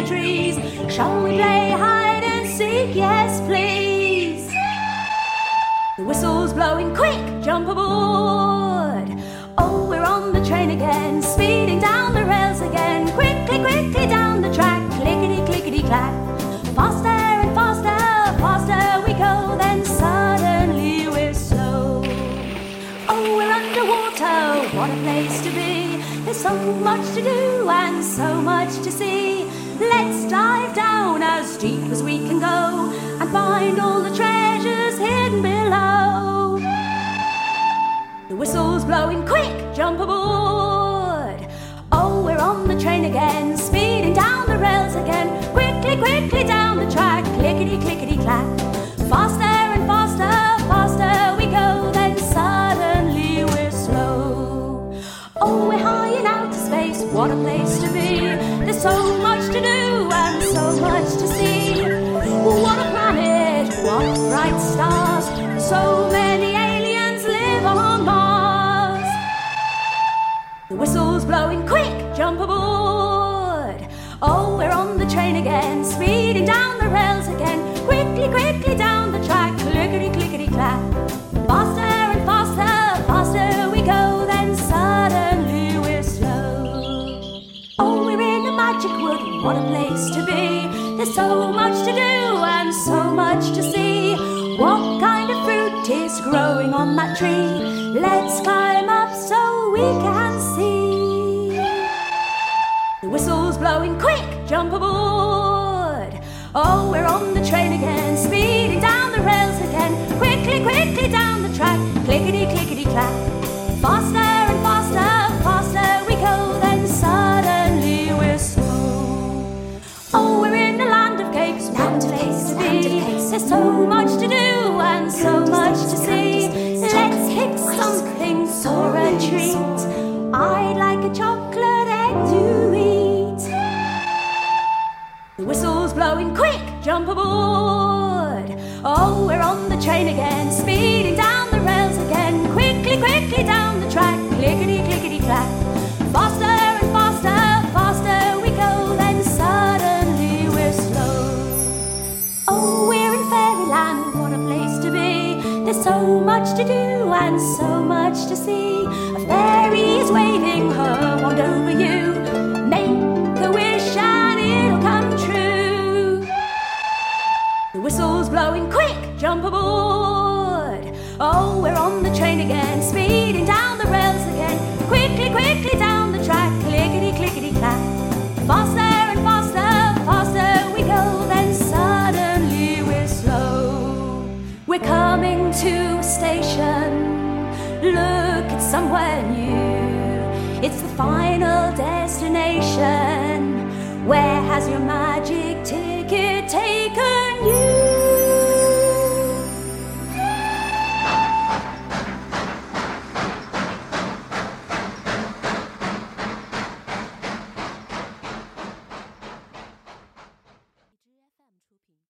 the trees. Shall we play hide and seek? Yes, please. The whistle's blowing, quick, jump aboard. Oh, we're on the train again, speeding down the rails again. Quickly, quickly down the track, clickety, clickety, clack. Faster and faster, faster we go, then suddenly we're slow. Oh, we're underwater, what a place to be. There's so much to do and so much to see. Let's dive down as deep as we can go and find all the treasures hidden below. The whistle's blowing, quick, jump aboard. Oh, we're on the train again, speeding down the rails again. Quickly, quickly down the track, clickety, clickety, clack. Faster and faster, faster we go, then suddenly we're slow. Oh, we're high in outer space, what a place to be. There's so much to do and so much to see. What a planet, what bright stars. So many aliens live on Mars. The whistle's blowing, quick, jump aboard. Oh, we're on the train again, speeding down the rails again. Quickly, quickly down the track, clickety, clickety, clack. Faster and faster, faster we go, then suddenly we're slow. Oh, we're in a magic wood, what a place to be. There's so much to do and so much to see. What kind of fruit is growing on that tree? Let's climb up so we can see. The whistle's blowing, quick, jump aboard. Oh, we're on the train again, speeding down the rails again. Quickly, quickly down the track, clickety, clickety, clack. Faster and faster, faster we go, then suddenly we're slow. Oh, we're in the land of cakes, what a place to be. There's so much to do and so much to see. Let's pick something for a treat. I'd like a chocolate egg to eat. The whistle's blowing, quick, jump aboard. Oh, we're on the train again, speeding down the rails again. Quickly, quickly down the track, clickety, clickety, clack. Faster and faster, faster we go, then suddenly we're slow. Oh, we're in fairyland, what a place to be. There's so much to do and so much to see. A fairy is waving her wand over you. Make a wish and it'll come true. The whistle's blowing, quick, jump aboard. Oh, we're on the train again, speeding down the rails again. Quickly, quickly down the track, clickety, clickety, clack. Faster and faster, faster we go, then suddenly we're slow. We're coming to a station. Look, it's somewhere new. It's the final destination. Where has your magic ticket taken